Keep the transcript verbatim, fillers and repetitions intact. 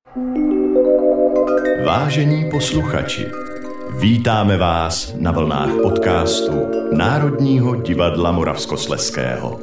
Vážení posluchači, vítáme vás na vlnách podcastu Národního divadla Moravskoslezského.